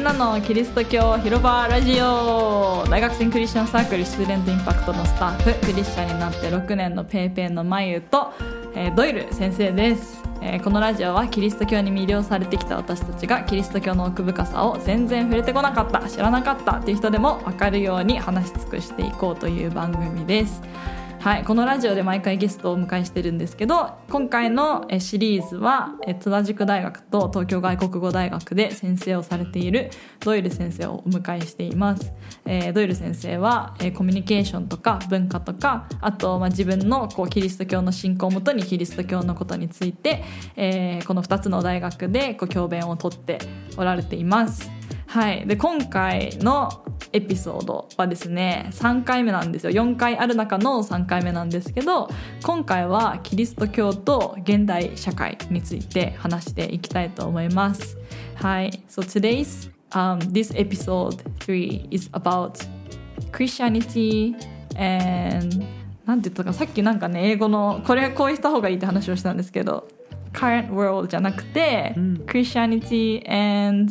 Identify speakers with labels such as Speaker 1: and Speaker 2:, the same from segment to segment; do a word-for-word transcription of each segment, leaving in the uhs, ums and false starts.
Speaker 1: なのキリスト教広場ラジオ。大学生クリスチャンサークルスチューデントインパクトのスタッフ、クリスチャンになってろくねんのペイペイのまゆと、えー、ドイル先生です。えー、このラジオはキリスト教に魅了されてきた私たちがキリスト教の奥深さを全然触れてこなかった、知らなかったっていう人でも分かるように話し尽くしていこうという番組です。はい、このラジオで毎回ゲストをお迎えしてるんですけど、今回のシリーズは津田塾大学と東京外国語大学で先生をされているドイル先生をお迎えしています。えー、ドイル先生は、えー、コミュニケーションとか文化とか、あと、まあ、自分のこうキリスト教の信仰をもとにキリスト教のことについて、えー、このふたつの大学でこう教鞭をとっておられています。はい、で今回のエピソードはですねさんかいめなんですよ。よんかいある中のさんかいめなんですけど、今回はキリスト教と現代社会について話していきたいと思います。はい、So today's、um, this episode three is about Christianity and なんて言ったか、さっきなんかね英語のこれこうした方がいいって話をしたんですけど、current world じゃなくて、うん、Christianity and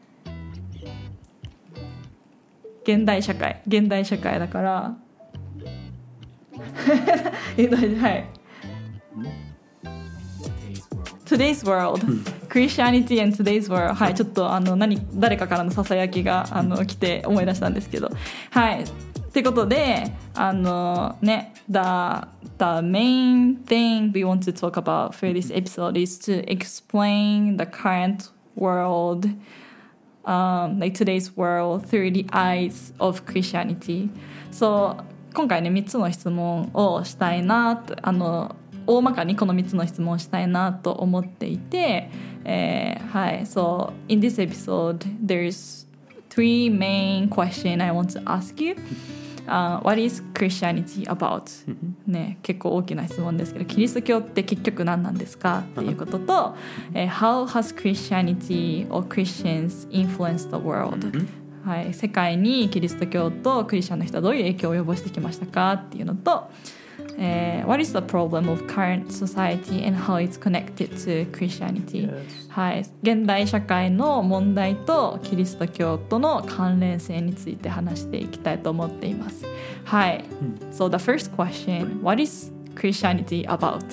Speaker 1: 現代社会現代社会だからはいToday's world Christianity and today's world。 はい、ちょっとあの何誰かからのささやきがあの来て思い出したんですけど、はいってことであのね the, the main thing we want to talk about for this episode is to explain the current world、Um, like today's world through the eyes of Christianity. So 今回ねみっつの質問をしたいなと、あの大まかにこのみっつの質問をしたいなと思っていて、えー、はい。So in this episode there's three main questions I want to ask you.Uh, what is Christianity about? ね、結構大きな質問ですけど、キリスト教って結局何なんですかっていうことと、えー、How has Christianity or Christians influenced the world? はい、世界にキリスト教とクリスチャンの人はどういう影響を及ぼしてきましたかっていうのと、えー、What is the problem of current society and how it's connected to Christianity? Yes. はい、現代社会の問題とキリスト教との関連性について話していきたいと思っています。はい。So the first question, what is Christianity about?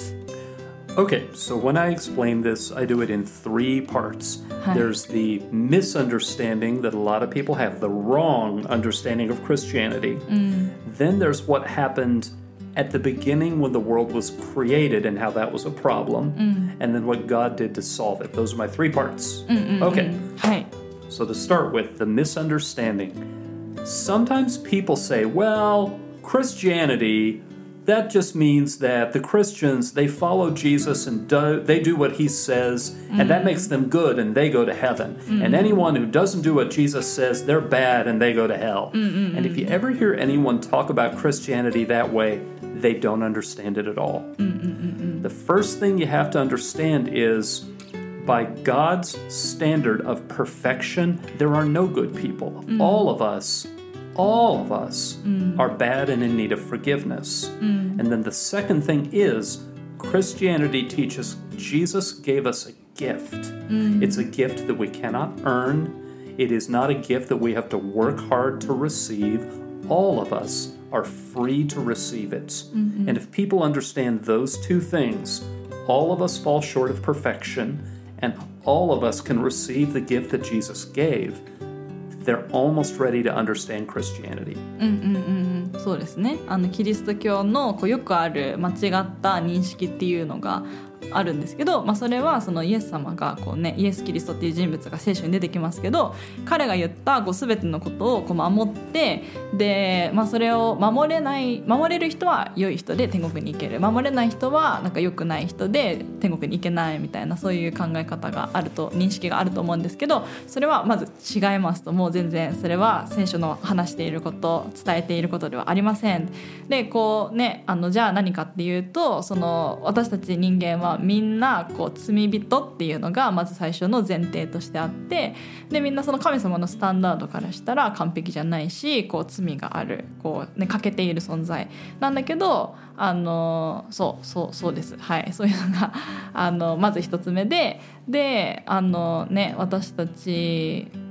Speaker 2: Okay, so when I explain this, I do it in three parts. There's the misunderstanding that a lot of people have, the wrong understanding of Christianity. Mm. Then there's what happened at the beginning when the world was created and how that was a problem, mm. and then what God did to solve it. Those are my three parts. Mm-mm-mm. Okay.
Speaker 1: Hi.
Speaker 2: So to start with, the misunderstanding. Sometimes people say, well, Christianity, that just means that the Christians, they follow Jesus and do, they do what he says, mm. and that makes them good and they go to heaven. Mm. And anyone who doesn't do what Jesus says, they're bad and they go to hell. Mm-mm-mm. And if you ever hear anyone talk about Christianity that way, they don't understand it at all. Mm-mm-mm. The first thing you have to understand is, by God's standard of perfection, there are no good people. Mm. All of us, all of us mm. are bad and in need of forgiveness. Mm. And then the second thing is, Christianity teaches Jesus gave us a gift. Mm. It's a gift that we cannot earn. It is not a gift that we have to work hard to receive. All of us are free to receive it. Mm-hmm. And if people understand those two things, all of us fall short of perfection, and all of us can receive the gift that Jesus gave. They're almost ready to understand Christianity.
Speaker 1: うんうんうん、そうですね。あのキリスト教のこうよくある間違った認識っていうのがあるんですけど、まあ、それはそのイエス様がこう、ね、イエス・キリストっていう人物が聖書に出てきますけど、彼が言ったこう全てのことをこう守ってで、まあ、それを守れない守れる人は良い人で天国に行ける、守れない人はなんか良くない人で天国に行けないみたいな、そういう考え方があると認識があると思うんですけど、それはまず違いますと、もう全然それは聖書の話していること伝えていることではありません。でこうね、あのじゃあ何かっていうと、その私たち人間はみんなこう罪人っていうのがまず最初の前提としてあって、でみんなその神様のスタンダードからしたら完璧じゃないし、こう罪がある、こう、ね、欠けている存在なんだけど、あのそうそうそうです、はい、そういうのがあのまず一つ目で、であの、ね、私たち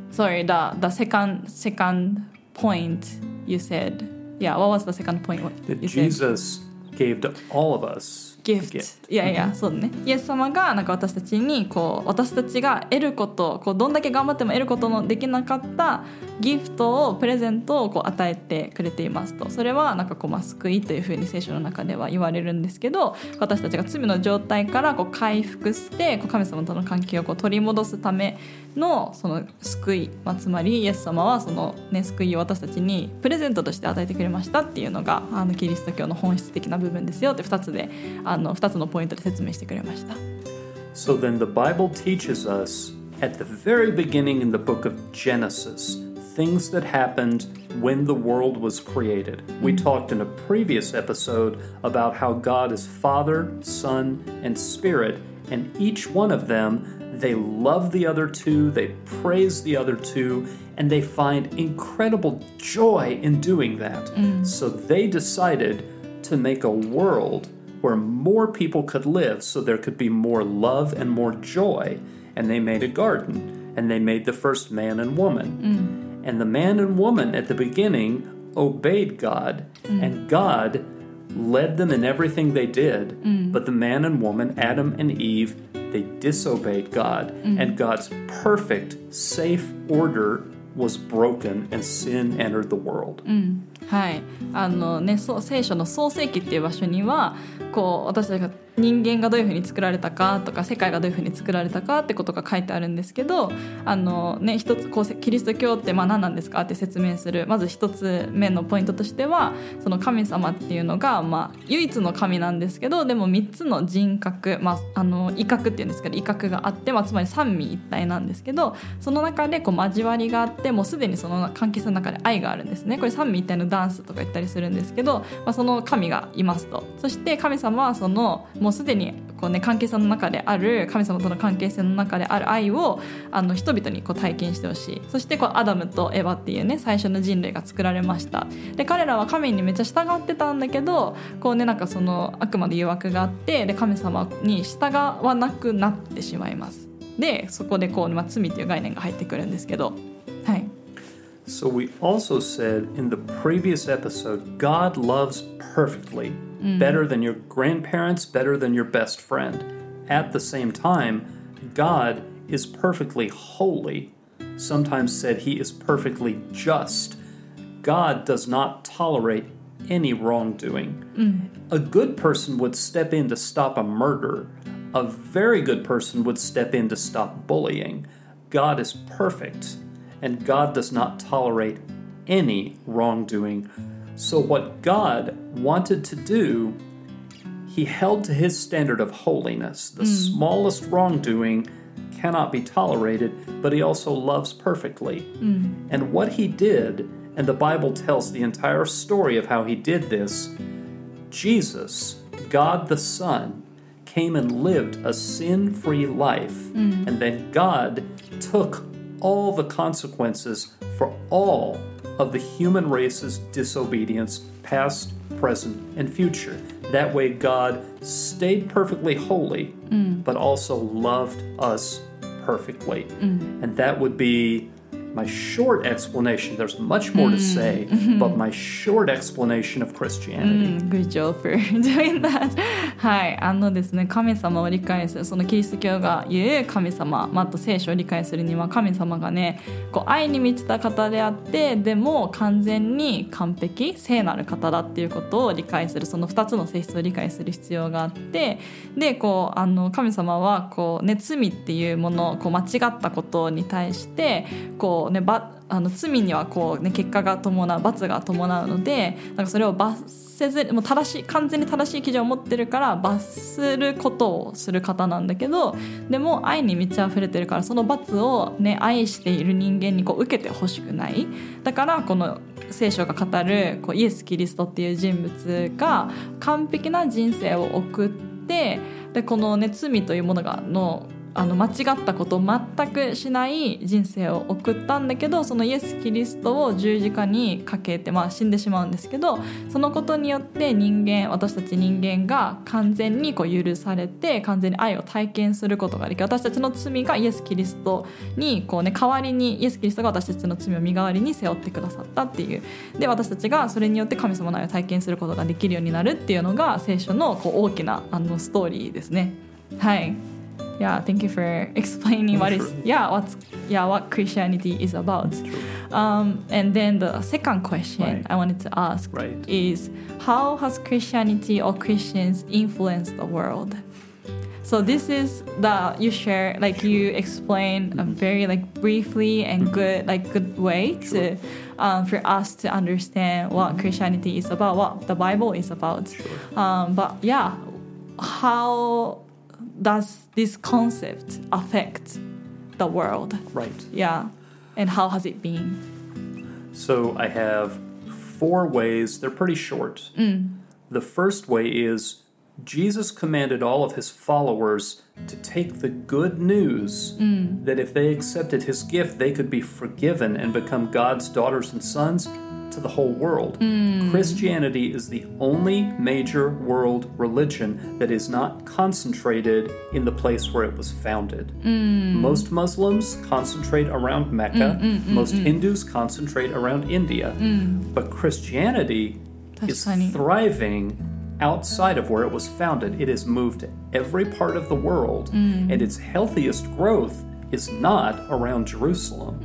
Speaker 1: Sorry, the, the second, second point you said. Yeah, what was the second point
Speaker 2: That
Speaker 1: you said?
Speaker 2: Jesus gave to all of us
Speaker 1: gift.
Speaker 2: a gift.
Speaker 1: いやいや、そうね。イエス様がなんか私たちにこう私たちが得ること、こうどんだけ頑張っても得ることのできなかったギフトをプレゼントをこう与えてくれていますと。それはなんかこうまあ救いというふうに聖書の中では言われるんですけど、私たちが罪の状態からこう回復してこう神様との関係をこう取り戻すためのその救い、まあ、つまりイエス様はその、ね、救いを私たちにプレゼントとして与えてくれましたっていうのがあのキリスト教の本質的な部分ですよってふたつであのふたつのポイントで説明してくれました。
Speaker 2: So then the Bible teaches us at the very beginning in the book of Genesis things that happened when the world was created. We talked in a previous episode about how God is Father, Son, and Spirit, and each one of them, they love the other two, they praise the other two, and they find incredible joy in doing that. So they decided to make a world where more people could live so there could be more love and more joy. And they made a garden, and they made the first man and woman. And the man and woman at the beginning obeyed God, and God led them in everything they did. But the man and woman, Adam and Eve, they disobeyed God, and God's perfect, safe order was broken, and sin entered the world.
Speaker 1: はいあのね、そう聖書の創世記っていう場所にはこう私たちが人間がどういうふうに作られたかとか世界がどういうふうに作られたかってことが書いてあるんですけどあの、ね、一つこうキリスト教ってまあ何なんですかって説明するまず一つ目のポイントとしてはその神様っていうのが、まあ、唯一の神なんですけどでもみっつの人格、まあ、あの威嚇っていうんですけど威嚇があって、まあ、つまり三位一体なんですけどその中でこう交わりがあってもうすでにその関係性の中で愛があるんですね。これ三位一体のダンスとか言ったりするんですけど、まあ、その神がいますと。そして神様はそのもうすでにこう、ね、関係性の中である神様との関係性の中である愛をあの人々にこう体験してほしい。そしてこうアダムとエヴァっていうね最初の人類が作られました。で彼らは神にめっちゃ従ってたんだけどこう、ね、なんかその悪魔の誘惑があってで神様に従わなくなってしまいます。でそこでこう、まあ、罪という概念が入ってくるんですけどはい。
Speaker 2: So we also said in the previous episode, God loves perfectly, better than your grandparents, better than your best friend. At the same time, God is perfectly holy. Sometimes said he is perfectly just. God does not tolerate any wrongdoing. A good person would step in to stop a murder. A very good person would step in to stop bullying. God is perfect.And God does not tolerate any wrongdoing. So what God wanted to do, he held to his standard of holiness. The mm. smallest wrongdoing cannot be tolerated, but he also loves perfectly. Mm. And what he did, and the Bible tells the entire story of how he did this, Jesus, God the Son, came and lived a sin-free life. Mm. And then God took all the consequences for all of the human race's disobedience, past, present, and future. That way God stayed perfectly holy, mm. but also loved us perfectly. Mm. And that would be my short explanation. There's much more to say, but my short explanation of Christianity.
Speaker 1: Good job for doing that. はい、あのですね、神様を理解する、そのキリスト教が言う神様、まあ、あと聖書を理解するには神様がね、こう愛に満ちた方であって、でも完全に完璧、聖なる方だっていうことを理解する、そのふたつの性質を理解する必要があって、で、こうあの神様はこうね、罪っていうもの、こう間違ったことに対してこうね、ばあの罪にはこう、ね、結果が伴う罰が伴うのでなんかそれを罰せずもう正しい完全に正しい基準を持ってるから罰することをする方なんだけどでも愛に満ち溢れてるからその罰を、ね、愛している人間にこう受けてほしくないだからこの聖書が語るこうイエス・キリストっていう人物が完璧な人生を送ってでこの、ね、罪というものがのあの間違ったことを全くしない人生を送ったんだけど、そのイエス・キリストを十字架にかけて、まあ、死んでしまうんですけど、そのことによって人間私たち人間が完全にこう許されて完全に愛を体験することができる。私たちの罪がイエス・キリストにこう、ね、代わりにイエス・キリストが私たちの罪を身代わりに背負ってくださったっていう。で私たちがそれによって神様の愛を体験することができるようになるっていうのが聖書のこう大きなあのストーリーですね。はい。Yeah, thank you for explaining what is yeah what's yeah what Christianity is about. Um, and then the second question
Speaker 2: right.
Speaker 1: I wanted to ask
Speaker 2: right.
Speaker 1: is how has Christianity or Christians influenced the world? So this is the you share like you explain mm-hmm. a very like briefly and mm-hmm. good like good way sure. to um, for us to understand what mm-hmm. Christianity is about, what the Bible is about.
Speaker 2: Sure.
Speaker 1: Um, but yeah, how does this concept affect the world?
Speaker 2: Right.
Speaker 1: Yeah. And how has it been?
Speaker 2: So I have four ways. They're pretty short.
Speaker 1: Mm.
Speaker 2: The first way is Jesus commanded all of his followers to take the good news
Speaker 1: mm.
Speaker 2: that if they accepted his gift, they could be forgiven and become God's daughters and sons to the whole world.
Speaker 1: Mm.
Speaker 2: Christianity is the only major world religion that is not concentrated in the place where it was founded.
Speaker 1: Mm.
Speaker 2: Most Muslims concentrate around Mecca.
Speaker 1: Mm, mm, mm,
Speaker 2: Most
Speaker 1: mm.
Speaker 2: Hindus concentrate around India.
Speaker 1: Mm.
Speaker 2: But Christianity is
Speaker 1: funny.
Speaker 2: thriving outside of where it was founded. It has moved to every part of the world,
Speaker 1: mm.
Speaker 2: and its healthiest growth is not around Jerusalem.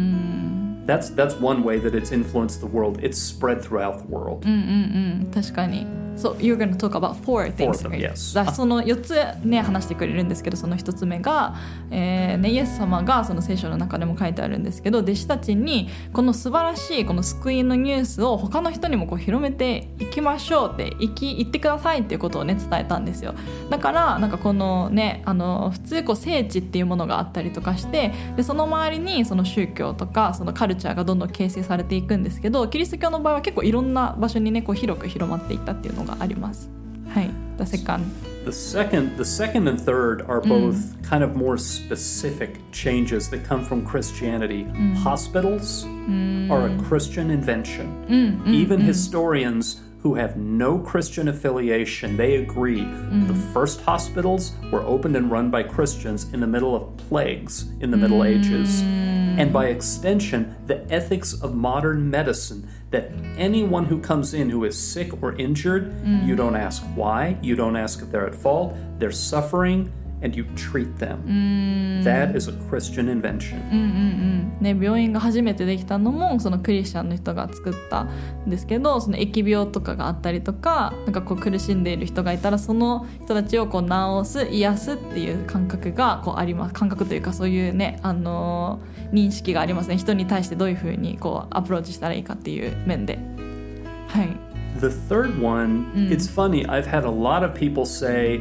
Speaker 1: Mm.
Speaker 2: That's that's one way that it's influenced the world. It's spread throughout the world.
Speaker 1: うんうんうん、確かに。So you're going to talk about four things.
Speaker 2: Four of them, yes.
Speaker 1: だそのよっつね話してくれるんですけど、そのひとつめが、えーね、イエス様がその聖書の中でも書いてあるんですけど、弟子たちにこの素晴らしいこの救いのニュースを他の人にもこう広めていきましょうって言き言ってくださいっていうことをね伝えたんですよ。だからなんかこのねあの普通こう聖地っていうものがあったりとかして、でその周りにその宗教とかそのカルチャーがどんどん形成されていくんですけど、キリスト教の場合は結構いろんな場所にねこう広く広まっていったっていうのがあります。はい。The second.
Speaker 2: The second, the second and third are both mm. kind of more specific changes that come from Christianity.
Speaker 1: Mm.
Speaker 2: Hospitals
Speaker 1: mm.
Speaker 2: are a Christian invention.
Speaker 1: Mm, mm,
Speaker 2: Even
Speaker 1: mm.
Speaker 2: historians who have no Christian affiliation, they agree
Speaker 1: mm.
Speaker 2: the first hospitals were opened and run by Christians in the middle of plagues in the Middle
Speaker 1: mm.
Speaker 2: Ages. And by extension, the ethics of modern medicine, that anyone who comes in who is sick or injured,
Speaker 1: mm.
Speaker 2: you don't ask why, you don't ask if they're at fault, they're suffering, and you treat them.
Speaker 1: Mm.
Speaker 2: That is a Christian invention.
Speaker 1: うんうんうんね、病院が初めてできたのもそのクリスチャンの人が作ったんですけど、その疫病とかがあったりとか、なんかこう苦しんでいる人がいたらその人たちをこう治す癒すっていう感覚がこうあります。感覚というかそういうね、あのー、認識がありますね。人に対してどういうふうにこうアプローチしたらいいかっていう面で。はい。
Speaker 2: The third one,
Speaker 1: mm.
Speaker 2: it's funny, I've had a lot of people say,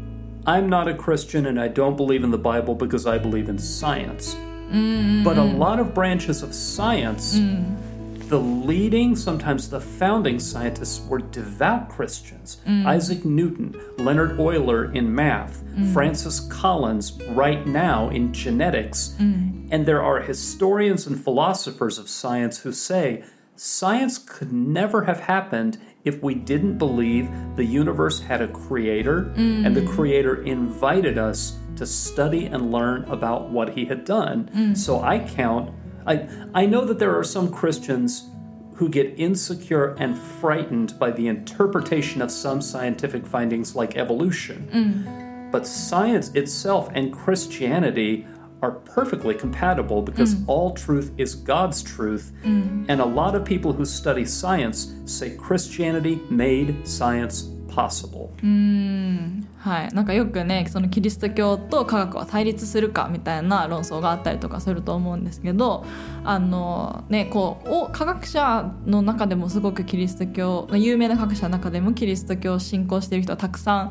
Speaker 2: I'm not a Christian and I don't believe in the Bible because I believe in science.
Speaker 1: Mm-hmm.
Speaker 2: But a lot of branches of science,
Speaker 1: mm.
Speaker 2: the leading, sometimes the founding scientists were devout Christians.
Speaker 1: Mm.
Speaker 2: Isaac Newton, Leonard Euler in math,
Speaker 1: mm.
Speaker 2: Francis Collins right now in genetics.
Speaker 1: Mm.
Speaker 2: And there are historians and philosophers of science who say science could never have happened if we didn't believe the universe had a creator
Speaker 1: mm.
Speaker 2: and the creator invited us to study and learn about what he had done.
Speaker 1: Mm.
Speaker 2: So I count, I, I know that there are some Christians who get insecure and frightened by the interpretation of some scientific findings like evolution.
Speaker 1: Mm.
Speaker 2: But science itself and Christianity are perfectly compatible because
Speaker 1: mm.
Speaker 2: all truth is God's truth.
Speaker 1: Mm.
Speaker 2: And a lot of people who study science say Christianity made science possible.
Speaker 1: うーん、はい、なんかよくねそのキリスト教と科学は対立するかみたいな論争があったりとかすると思うんですけど、あのねこうお科学者の中でもすごくキリスト教有名な科学者の中でもキリスト教を信仰している人はたくさん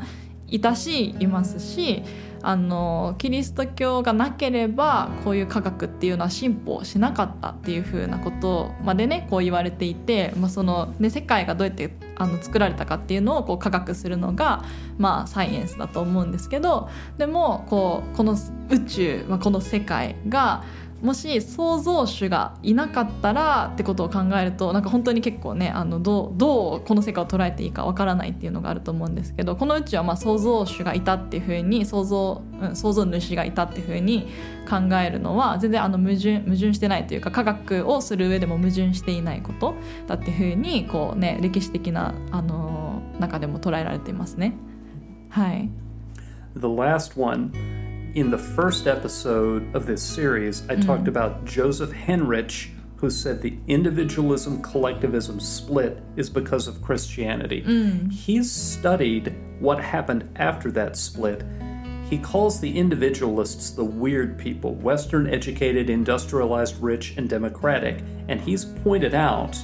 Speaker 1: いたしいますし、あのキリスト教がなければこういう科学っていうのは進歩しなかったっていう風なことまでねこう言われていて、まあそのね、世界がどうやってあの作られたかっていうのをこう科学するのが、まあ、サイエンスだと思うんですけど、でもこうこの宇宙、まあ、この世界がもし創造主がいなかったらってことを考えると、なんか本当に結構ねあのどう、どうこの世界を捉えていいかわからないっていうのがあると思うんですけど、この宇宙はまあ創造主がいたっていうふうに創造、うん、創造主がいたっていうふうに考えるのは全然あの矛盾、矛盾してないというか、科学をする上でも矛盾していないことだっていうふうにこう、ね、歴史的なあの中でも捉えられていますね。はい。
Speaker 2: The last one.In the first episode of this series, I mm. talked about Joseph Henrich, who said the individualism-collectivism split is because of Christianity. Mm. He's studied what happened after that split. He calls the individualists the weird people, Western-educated, industrialized, rich, and democratic. And he's pointed out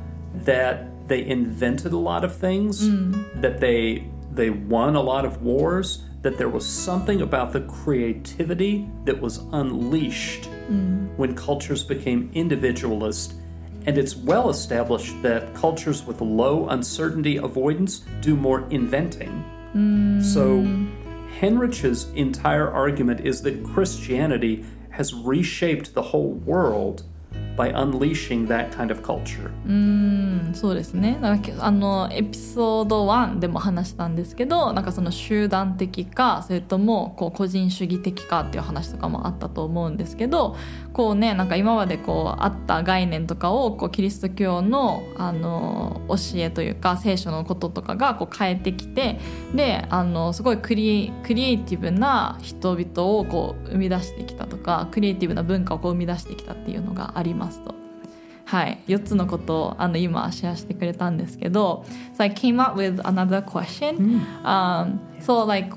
Speaker 2: that they invented a lot of things, mm. that they they won a lot of wars,that there was something about the creativity that was unleashed mm. when cultures became individualist. And it's well established that cultures with low uncertainty avoidance do more inventing. Mm. So Henrich's entire argument is that Christianity has reshaped the whole world by unleashing that kind of culture.
Speaker 1: うーん、そうですね。だからあのエピソードワンでも話したんですけど、なんかその集団的かそれともこう個人主義的かっていう話とかもあったと思うんですけど、こうね、なんか今までこうあった概念とかをこうキリスト教のあの教えというか聖書のこととかがこう変えてきて、であのすごいクリ、クリエイティブな人々をこう生み出してきたとか、クリエイティブな文化をこう生み出してきたっていうのがありますと。はい、よっつのことをあの今シェアしてくれたんですけど、So I came up with another question. Um, so like,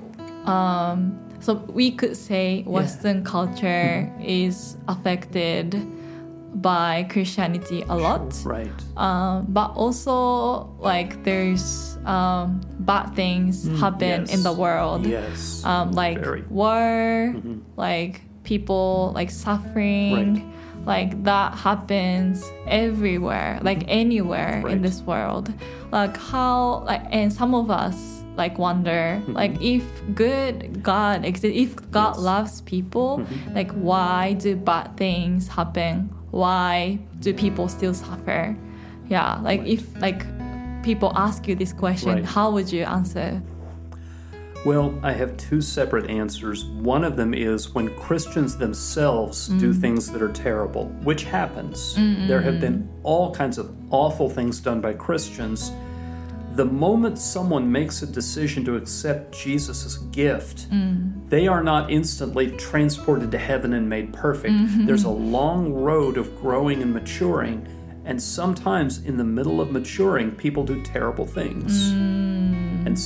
Speaker 1: um, so we could say Western culture is affected by Christianity a lot.
Speaker 2: Right.
Speaker 1: Um, but also like there's um, bad things happen
Speaker 2: yes.
Speaker 1: in the world.
Speaker 2: Yes.
Speaker 1: Um, like
Speaker 2: Very.
Speaker 1: war,
Speaker 2: Mm-hmm.
Speaker 1: like people like suffering.、Right.Like that happens everywhere, like anywhere
Speaker 2: right.
Speaker 1: in this world. Like how, like, and some of us like wonder, mm-hmm. like if good God exists, if God yes. loves people, mm-hmm. like why do bad things happen? Why do people still suffer? Yeah, like right. if like people ask you this question, right. how would you answer?Well,
Speaker 2: I have two separate answers. One of them is when Christians themselves mm. do things that are terrible, which happens. Mm-mm. There have been all kinds of awful things done by Christians. The moment someone makes a decision to accept Jesus' gift, mm. they are not instantly transported to heaven and made perfect. Mm-hmm. There's a long road of growing and maturing, and sometimes in the middle of maturing, people do terrible things. Mm. And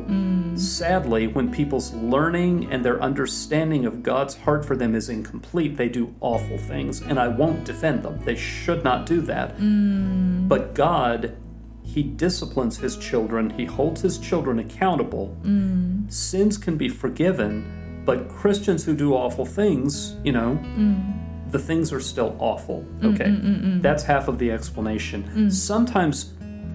Speaker 2: so...Sadly, when people's learning and their understanding of God's heart for them is incomplete, they do awful things, and I won't defend them. They should not do that. Mm. But God, He disciplines His children. He holds His children accountable. Mm. Sins can be forgiven, but Christians who do awful things, you know, mm. the things are still awful. Okay, Mm-mm-mm-mm. That's half of the explanation. Mm. Sometimes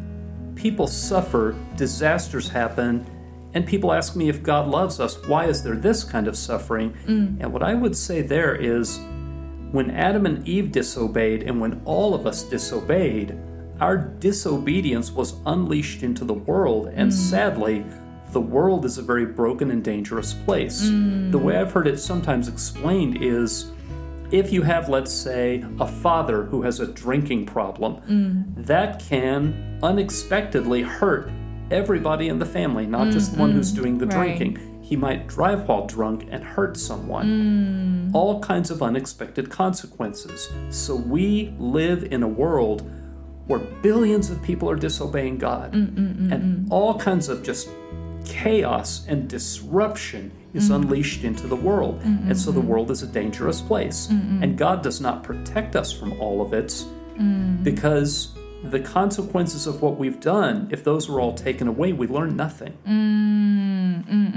Speaker 2: people suffer, disasters happen,And people ask me if God loves us, why is there this kind of suffering? Mm. And what I would say there is, when Adam and Eve disobeyed and when all of us disobeyed, our disobedience was unleashed into the world. And mm. sadly, the world is a very broken and dangerous place. Mm. The way I've heard it sometimes explained is, if you have, let's say, a father who has a drinking problem, mm. that can unexpectedly hurt.Everybody in the family, not just mm, the one who's doing the
Speaker 1: right.
Speaker 2: drinking. He might drive while drunk and hurt someone. Mm. All kinds of unexpected consequences. So we live in a world where billions of people are disobeying God. Mm, mm, mm, and mm. all kinds of just chaos and disruption is mm. unleashed into the world. Mm, and so the world is a dangerous place. Mm, and God does not protect us from all of it mm. because...The consequences of what we've done, if those were all taken away, we learn nothing.
Speaker 1: うんうんうん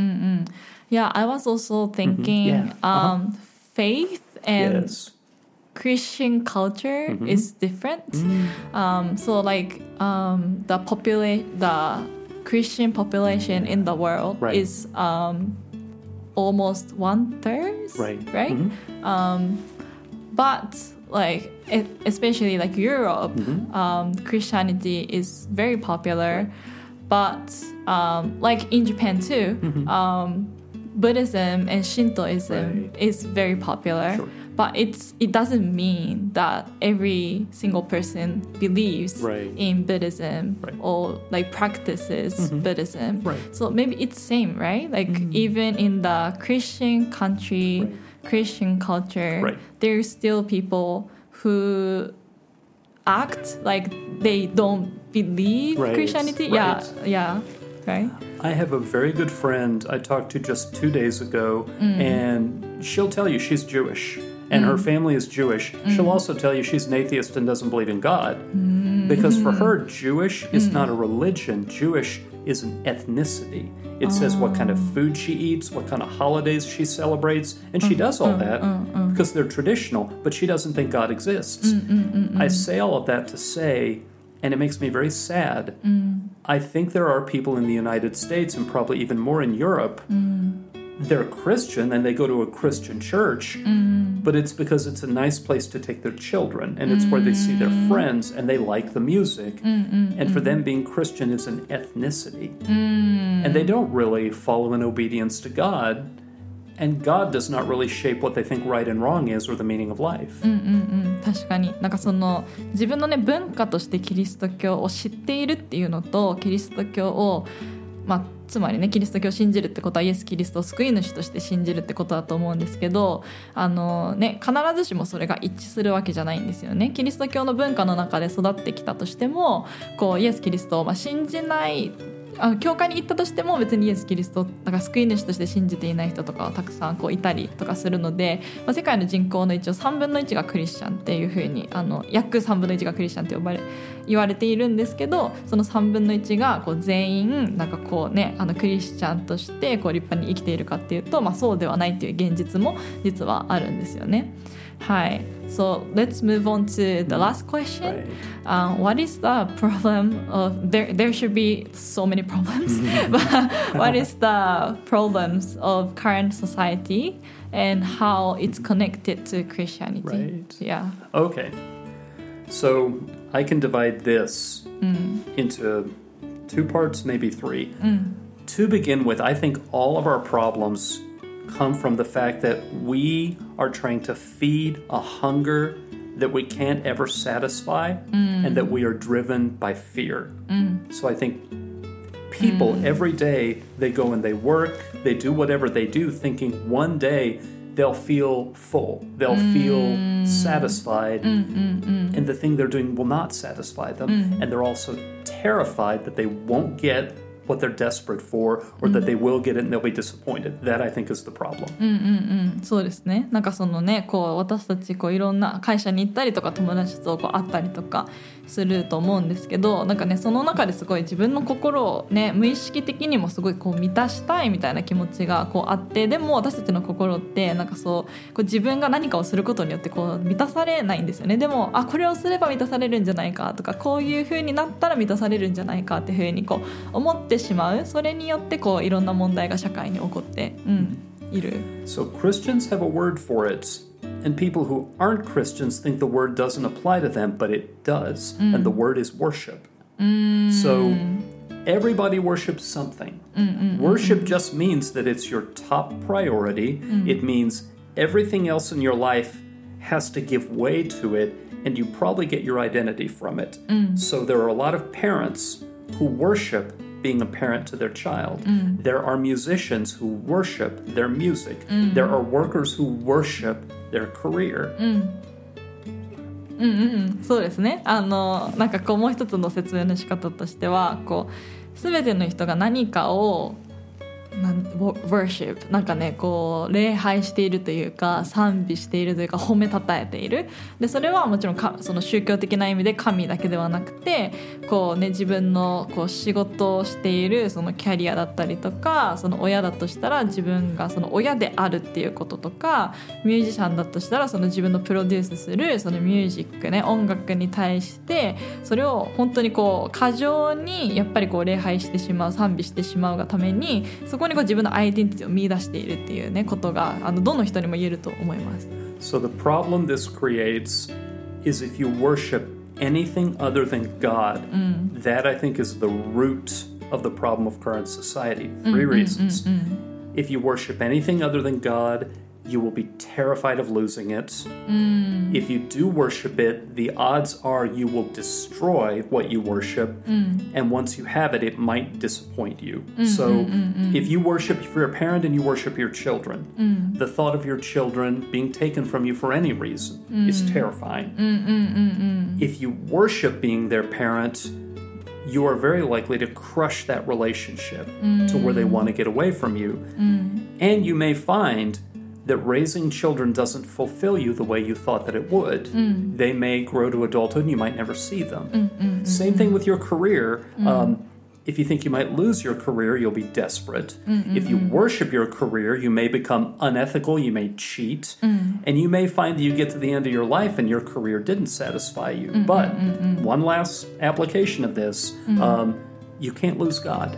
Speaker 1: Yeah, I was also thinking
Speaker 2: Mm-hmm. Yeah. Uh-huh.
Speaker 1: um, faith and
Speaker 2: Yes.
Speaker 1: Christian culture
Speaker 2: Mhm.
Speaker 1: is different. Um, so like um, the popula- the Christian population in the world
Speaker 2: Right.
Speaker 1: is um, almost one third,
Speaker 2: Right.
Speaker 1: Right.
Speaker 2: Mhm.
Speaker 1: Um, but like it, especially like Europe,
Speaker 2: Mhm.
Speaker 1: um, Christianity is very popular. But um, like in Japan too,
Speaker 2: Mhm.
Speaker 1: um, Buddhism and Shintoism
Speaker 2: Right.
Speaker 1: is very popular.
Speaker 2: Sure.
Speaker 1: But it's it doesn't mean that every single person believes
Speaker 2: Right.
Speaker 1: in Buddhism
Speaker 2: Right.
Speaker 1: or like practices
Speaker 2: Mhm.
Speaker 1: Buddhism.
Speaker 2: Right.
Speaker 1: So maybe it's same, right? Like
Speaker 2: Mm.
Speaker 1: even in the Christian country,
Speaker 2: Right.
Speaker 1: Christian culture,
Speaker 2: Right.
Speaker 1: there's still people who act like they don't believe
Speaker 2: Right.
Speaker 1: Christianity.
Speaker 2: Right.
Speaker 1: Yeah, yeah, right.
Speaker 2: I have a very good friend I talked to just two days ago, and she'll tell you she's Jewish, and her family is Jewish. She'll also tell you she's an atheist and doesn't believe in God. Because for her, Jewish is not a religion. Jewish is an ethnicity. It says what kind of food she eats, what kind of holidays she celebrates, and she does all that because they're traditional, but she doesn't think God exists. I say all of that to say, and it makes me very sad, I think there are people in the United States, and probably even more in Europe, they're Christian and they go to a Christian church, but it's because it's a nice place to take their children, and it's where they see their friends and they like the music. And for them, being Christian is an ethnicity. And they don't really follow in obedience to God, and God does not really shape what they think right and wrong is or the meaning of life.
Speaker 1: 確かになんかその自分のね文化としてキリスト教を知っているっていうのとキリスト教をまあつまりねキリスト教を信じるってことはイエス・キリストを救い主として信じるってことだと思うんですけどあのね必ずしもそれが一致するわけじゃないんですよね。キリスト教の文化の中で育ってきたとしてもこうイエス・キリストをまあ信じないあの教会に行ったとしても別にイエス・キリストなんか救い主として信じていない人とかはたくさんこういたりとかするので、まあ、世界の人口の一応さんぶんのいちがクリスチャンっていう風にあの約さんぶんのいちがクリスチャンって呼ばれ言われているんですけどそのさんぶんのいちがこう全員なんかこう、ね、あのクリスチャンとしてこう立派に生きているかっていうと、まあ、そうではないという現実も実はあるんですよね。はい。So let's move on to the last question.
Speaker 2: Right.
Speaker 1: Um, what is the problem of there? There should be so many problems, but what is the problems of current society and how it's connected to Christianity?
Speaker 2: Right.
Speaker 1: Yeah.
Speaker 2: Okay. So I can divide this into two parts, maybe three. To begin with, I think all of our problems come from the fact that we are trying to feed a hunger that we can't ever satisfy and that we are driven by fear. So I think people every day, they go and they work, they do whatever they do thinking one day they'll feel full, they'll feel satisfied, and the thing they're doing will not satisfy them, and they're also terrified that they won't get what they're desperate for or that they will get it and they'll be disappointed. That I think is the problem.
Speaker 1: うんうんうん、そうですね。なんかそのね、こう私たちこういろんな会社に行ったりとか友達とこう会ったりとかすると思うんですけど、なんかねその中ですごい自分の心をね無意識的にもすごいこう満たしたいみたいな気持ちがこうあって、でも私たちの心ってなんかそう、こう自分が何かをすることによってこう満たされないんですよね。でもあこれをすれば満たされるんじゃないかとか、こういう風になったら満たされるんじゃないかっていう風にこう思ってしまう。それによってこういろんな問題が社会に起こって、うん、いる。
Speaker 2: So Christians have a word for it, and people who aren't Christians think the word doesn't apply to them, but it does, and the word is worship. So everybody worships something. Worship just means that it's your top priority. It means everything else in your life has to give way to it, and you probably get your identity from it. So there are a lot of parents who worship being a parent to their child. There are musicians who worship their music. There are workers who worship their career.
Speaker 1: うんうんうん、そうですね。あのなんかこうもう一つの説明の仕方としては、こう全ての人が何かをなん worship なんかねこう礼拝しているというか賛美しているというか褒めたたえている。でそれはもちろんかその宗教的な意味で神だけではなくてこう、ね、自分のこう仕事をしているそのキャリアだったりとかその親だとしたら自分がその親であるっていうこととかミュージシャンだとしたらその自分のプロデュースするそのミュージックね音楽に対してそれを本当にこう過剰にやっぱりこう礼拝してしまう賛美してしまうがためにそこにこう自分のアイデンティティを見出しているっていうねことがあのどの人にも言えると思います。
Speaker 2: So the problem this creates is if you worship anything other than God, that I think is the root of the problem of current society. Three reasons. If you worship anything other than God, you will be terrified of losing it. Mm. If you do worship it, the odds are you will destroy what you worship. Mm. And once you have it, it might disappoint you. Mm, so mm, mm, mm. if you worship, if you're a parent and you worship your children, mm. the thought of your children being taken from you for any reason mm. is terrifying. Mm, mm, mm, mm. If you worship being their parent, you are very likely to crush that relationship mm. to where they want to get away from you. Mm. And you may find that raising children doesn't fulfill you the way you thought that it would. Mm. They may grow to adulthood and you might never see them. Mm, mm, Same mm, thing with your career. Mm. Um, if you think you might lose your career, you'll be desperate. Mm, if you mm, worship your career, you may become unethical, you may cheat, mm. and you may find that you get to the end of your life and your career didn't satisfy you. Mm, but mm, mm, one last application of this, mm. um, you can't lose God.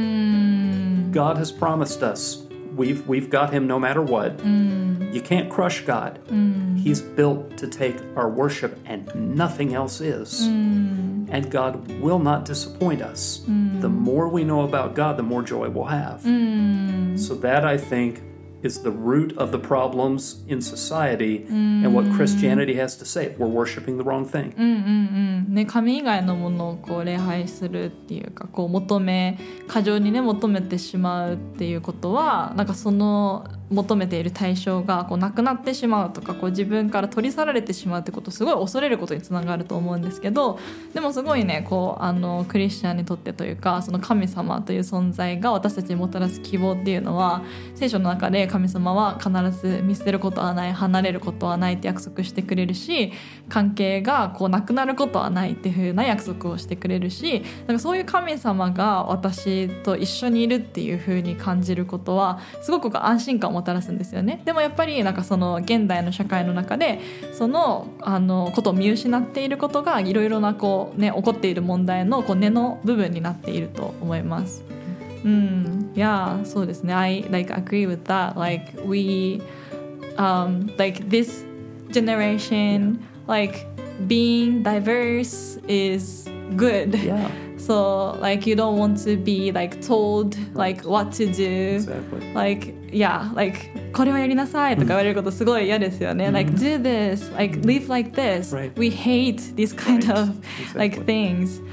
Speaker 2: Mm. God has promised us We've we've got him no matter what. Mm. You can't crush God. Mm. He's built to take our worship and nothing else is. Mm. And God will not disappoint us. Mm. The more we know about God, the more joy we'll have. Mm. So that, I think, is the root of the problems in society mm. and what Christianity has to say. We're worshiping the wrong thing.
Speaker 1: うんうんうんね、神以外のものをこう礼拝するっていうかこう求め過剰にね求めてしまうっていうことはなんかその求めている対象がこうなくなってしまうとかこう自分から取り去られてしまうってことをすごい恐れることにつながると思うんですけどでもすごいねこうあのクリスチャンにとってというかその神様という存在が私たちにもたらす希望っていうのは聖書の中で神様は必ず見捨てることはない離れることはないって約束してくれるし関係がこうなくなることはないっていう風な約束をしてくれるしなんかそういう神様が私と一緒にいるっていう風に感じることはすごく安心感をもたらすんですよね。でもやっぱりなんかその現代の社会の中でそのあのことを見失っていることがいろいろなこう、ね、起こっている問題のこう根の部分になっていると思います。うん、yeah, そうですね。I like agree with that. Like we, um, like this generation, like being diverse is good.
Speaker 2: Yeah.
Speaker 1: So like you don't want to be like told like what to do.
Speaker 2: Exactly.
Speaker 1: Like yeah, like これはやりなさいとか言われることすごい嫌ですよね。Mm. Like do this, like live like this.
Speaker 2: Right.
Speaker 1: We hate these kind
Speaker 2: right.
Speaker 1: of
Speaker 2: exactly.
Speaker 1: like things.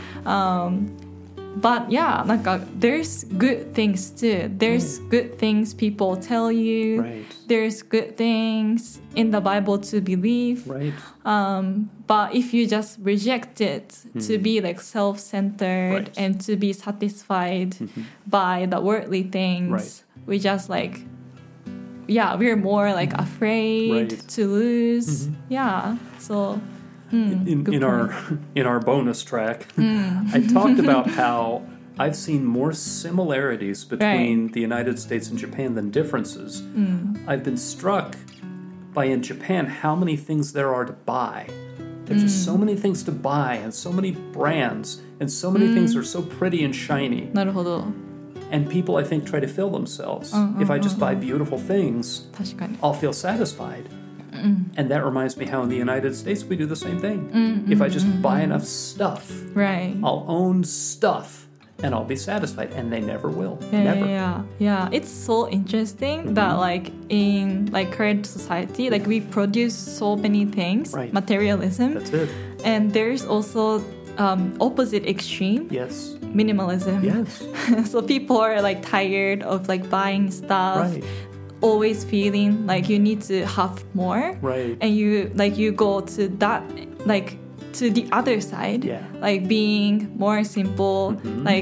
Speaker 1: Um,But yeah, なんか there's good things too. There's mm. good things people tell you.
Speaker 2: Right.
Speaker 1: There's good things in the Bible to believe.
Speaker 2: Right.
Speaker 1: Um, but if you just reject it mm. to be like self-centered
Speaker 2: right.
Speaker 1: and to be satisfied mm-hmm. by the worldly things,
Speaker 2: right.
Speaker 1: we just like, yeah, we're more like afraid
Speaker 2: right.
Speaker 1: to lose. Mm-hmm. Yeah, so... Mm,
Speaker 2: in in our in our bonus track, mm. I talked about how I've seen more similarities between
Speaker 1: right.
Speaker 2: the United States and Japan than differences. Mm. I've been struck by in Japan how many things there are to buy. There's mm. just so many things to buy and so many brands and so many mm. things are so pretty and shiny.
Speaker 1: なるほど。
Speaker 2: And people, I think, try to fill themselves.
Speaker 1: Uh, uh,
Speaker 2: if I just
Speaker 1: uh,
Speaker 2: buy beautiful things,
Speaker 1: 確かに。
Speaker 2: I'll feel satisfied. Mm. And that reminds me how in the United States we do the same thing.
Speaker 1: Mm,
Speaker 2: if
Speaker 1: mm,
Speaker 2: I just
Speaker 1: mm,
Speaker 2: buy
Speaker 1: mm.
Speaker 2: enough stuff,
Speaker 1: right.
Speaker 2: I'll own stuff and I'll be satisfied. And they never will.
Speaker 1: Yeah,
Speaker 2: never.
Speaker 1: Yeah, yeah. It's so interesting mm-hmm. that like in like current society, like we produce so many things,
Speaker 2: right.
Speaker 1: materialism.
Speaker 2: That's it.
Speaker 1: And there's also um, opposite extreme.
Speaker 2: Yes.
Speaker 1: Minimalism.
Speaker 2: Yes.
Speaker 1: So people are like tired of like buying stuff.
Speaker 2: Right.
Speaker 1: Always feeling like you need to have more,
Speaker 2: right?
Speaker 1: And you like you go to that like to the other side,
Speaker 2: yeah.
Speaker 1: like being more simple, mm-hmm. like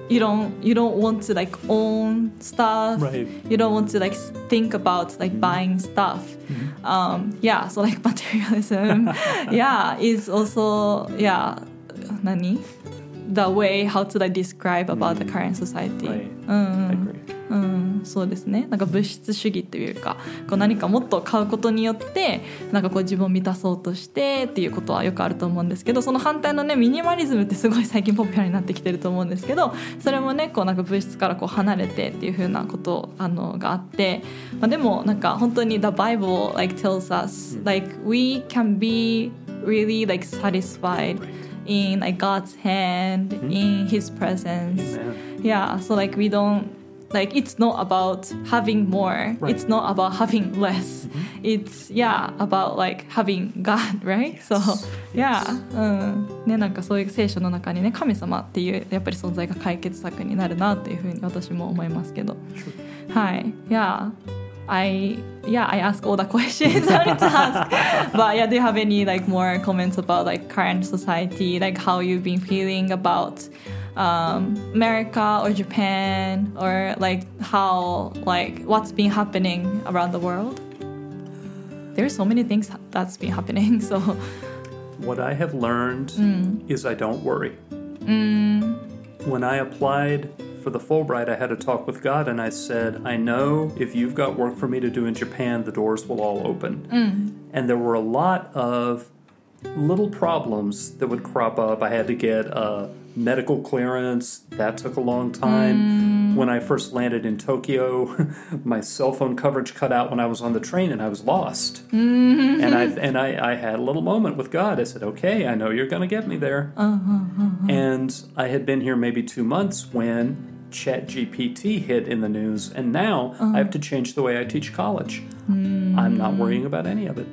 Speaker 1: you don't you don't want to like own stuff.
Speaker 2: Right.
Speaker 1: You don't want to like think about like buying stuff. Mm-hmm. Um, yeah, so like materialism, yeah, is also yeah, 何? The way how to like describe about the current society.
Speaker 2: Right.
Speaker 1: うん
Speaker 2: I agree.
Speaker 1: うん、そうですね。なんか物質主義っていうか、こう何かもっと買うことによってなんかこう自分を満たそうとしてっていうことはよくあると思うんですけど、その反対のねミニマリズムってすごい最近ポピュラーになってきてると思うんですけど、それもねこうなんか物質からこう離れてっていう風なことあのがあって、まあ、でもなんか本当に The Bible like tells us like we can be really like satisfied in like God's hand, in His presence.
Speaker 2: Amen.
Speaker 1: Yeah, so like we don't like it's not about having more,
Speaker 2: Right.
Speaker 1: it's not about having less. Mm-hmm. It's yeah about like having God, right?
Speaker 2: Yes.
Speaker 1: So yeah,
Speaker 2: Yes.
Speaker 1: うんね、なんかそういう聖書の中にね神様っていうやっぱり存在が解決策になるなっていうふうに私も思いますけど、はい、yeah, I yeah I ask all the questions I need to ask, but yeah, do you have any like more comments about like current society, like how you've been feeling about?Um, America or Japan, or like how like what's been happening around the world? There's so many things that's been happening. So
Speaker 2: What I have learned
Speaker 1: mm.
Speaker 2: is I don't worry.
Speaker 1: Mm.
Speaker 2: When I applied for the Fulbright, I had a talk with God and I said, I know if you've got work for me to do in Japan, the doors will all open.
Speaker 1: Mm.
Speaker 2: And there were a lot of little problems that would crop up. I had to get a medical clearance. That took a long time.
Speaker 1: Mm.
Speaker 2: When I first landed in Tokyo, my cell phone coverage cut out when I was on the train and I was lost.
Speaker 1: Mm-hmm.
Speaker 2: And I and I, I had a little moment with God. I said, okay, I know you're going to get me there.
Speaker 1: Uh-huh, uh-huh.
Speaker 2: And I had been here maybe two months when ChatGPT hit in the news. And now
Speaker 1: uh-huh.
Speaker 2: I have to change the way I teach college.
Speaker 1: Mm.
Speaker 2: I'm not worrying about any of it.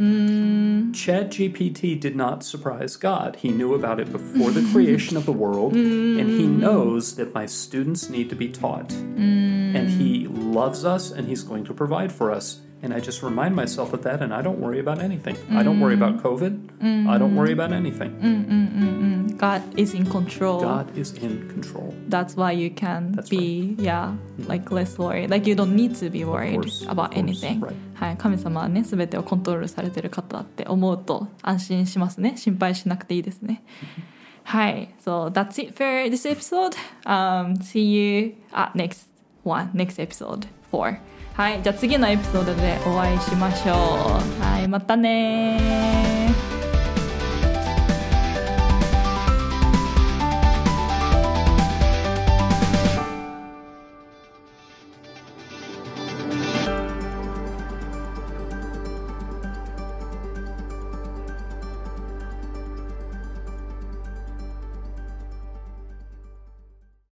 Speaker 1: Mm.
Speaker 2: ChatGPT did not surprise God. He knew about it before the creation of the world,
Speaker 1: mm.
Speaker 2: and he knows that my students need to be taught.
Speaker 1: Mm.
Speaker 2: And he loves us, and he's going to provide for us. And I just remind myself of that, and I don't worry about anything. Mm. I don't worry about COVID. Mm. I don't worry about anything.
Speaker 1: Mm-mm-mm-mm. God is in control.
Speaker 2: God is in control.
Speaker 1: That's why you can
Speaker 2: That's
Speaker 1: be,
Speaker 2: right.
Speaker 1: yeah, like less worried. Like you don't need to be worried
Speaker 2: course,
Speaker 1: about anything.
Speaker 2: Right.
Speaker 1: はい、神様はね、すべてをコントロールされている方だって思うと安心しますね。心配しなくていいですね。はい、so that's it for this episode. Um, see you at next one, next episode four. はい、じゃあ次のエピソードでお会いしましょう。はい、またね。